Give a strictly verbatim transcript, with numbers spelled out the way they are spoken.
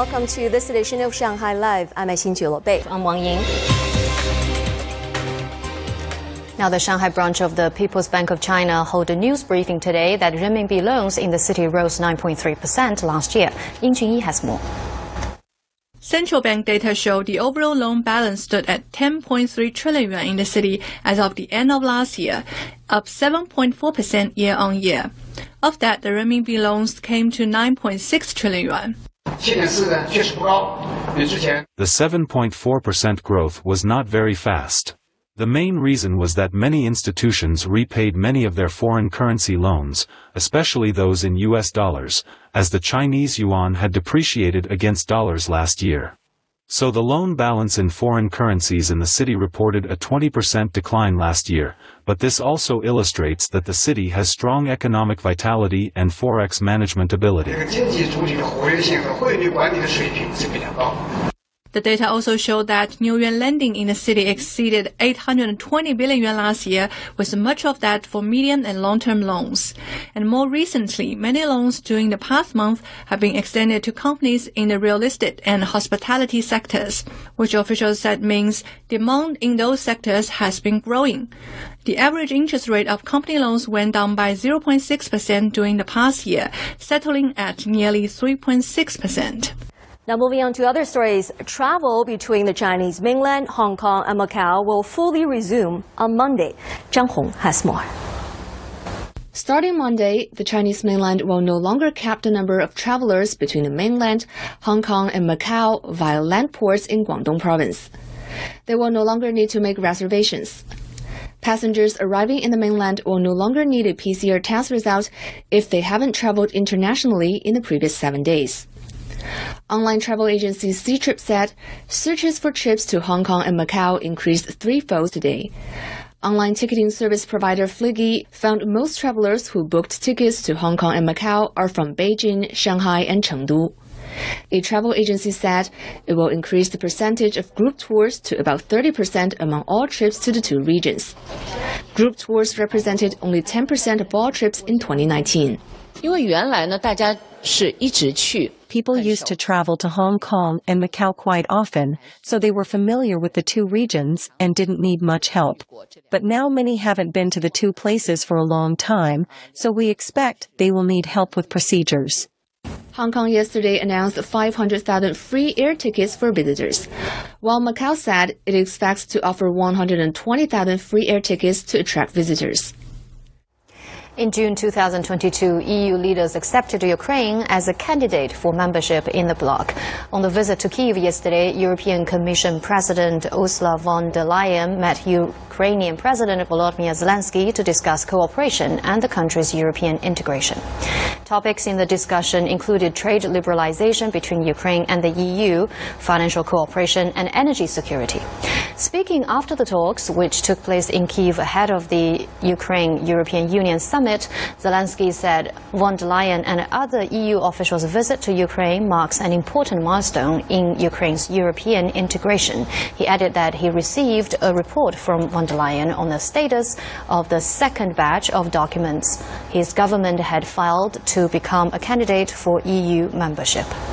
welcome to this edition of Shanghai Live. I'm Xin Bei. I'm Wang Ying. Now, the Shanghai branch of the People's Bank of China held a news briefing today that renminbi loans in the city rose nine point three percent last year. Ying Junyi has more. Central bank data show the overall loan balance stood at ten point three trillion yuan in the city as of the end of last year, up seven point four percent year-on-year. Of that, the renminbi loans came to nine point six trillion yuan. The seven point four percent growth was not very fast. The main reason was that many institutions repaid many of their foreign currency loans, especially those in U S dollars, as the Chinese yuan had depreciated against dollars last year. So the loan balance in foreign currencies in the city reported a twenty percent decline last year, but this also illustrates that the city has strong economic vitality and forex management ability. The data also showed that new yuan lending in the city exceeded eight hundred twenty billion yuan last year, with much of that for medium and long-term loans. And more recently, many loans during the past month have been extended to companies in the real estate and hospitality sectors, which officials said means demand in those sectors has been growing. The average interest rate of company loans went down by zero point six percent during the past year, settling at nearly three point six percent. Now moving on to other stories, travel between the Chinese mainland, Hong Kong and Macau will fully resume on Monday. Zhang Hong has more. Starting Monday, the Chinese mainland will no longer cap the number of travelers between the mainland, Hong Kong and Macau via land ports in Guangdong province. They will no longer need to make reservations. Passengers arriving in the mainland will no longer need a P C R test result if they haven't traveled internationally in the previous seven days. Online travel agency Ctrip said searches for trips to Hong Kong and Macau increased threefold today. Online ticketing service provider Fliggy found most travelers who booked tickets to Hong Kong and Macau are from Beijing, Shanghai, and Chengdu. A travel agency said it will increase the percentage of group tours to about thirty percent among all trips to the two regions. Group tours represented only ten percent of all trips in twenty nineteen. People used to travel to Hong Kong and Macau quite often, so they were familiar with the two regions and didn't need much help. But now many haven't been to the two places for a long time, so we expect they will need help with procedures. Hong Kong yesterday announced five hundred thousand free air tickets for visitors, while Macau said it expects to offer one hundred twenty thousand free air tickets to attract visitors. In June two thousand twenty-two, E U leaders accepted Ukraine as a candidate for membership in the bloc. On the visit to Kyiv yesterday, European Commission President Ursula von der Leyen met Ukrainian President Volodymyr Zelensky to discuss cooperation and the country's European integration. Topics in the discussion included trade liberalization between Ukraine and the E U, financial cooperation, and energy security. Speaking after the talks, which took place in Kyiv ahead of the Ukraine-European Union summit, Zelensky said von der Leyen and other E U officials' visit to Ukraine marks an important milestone in Ukraine's European integration. He added that he received a report from von der Leyen on the status of the second batch of documents his government had filed to become a candidate for E U membership.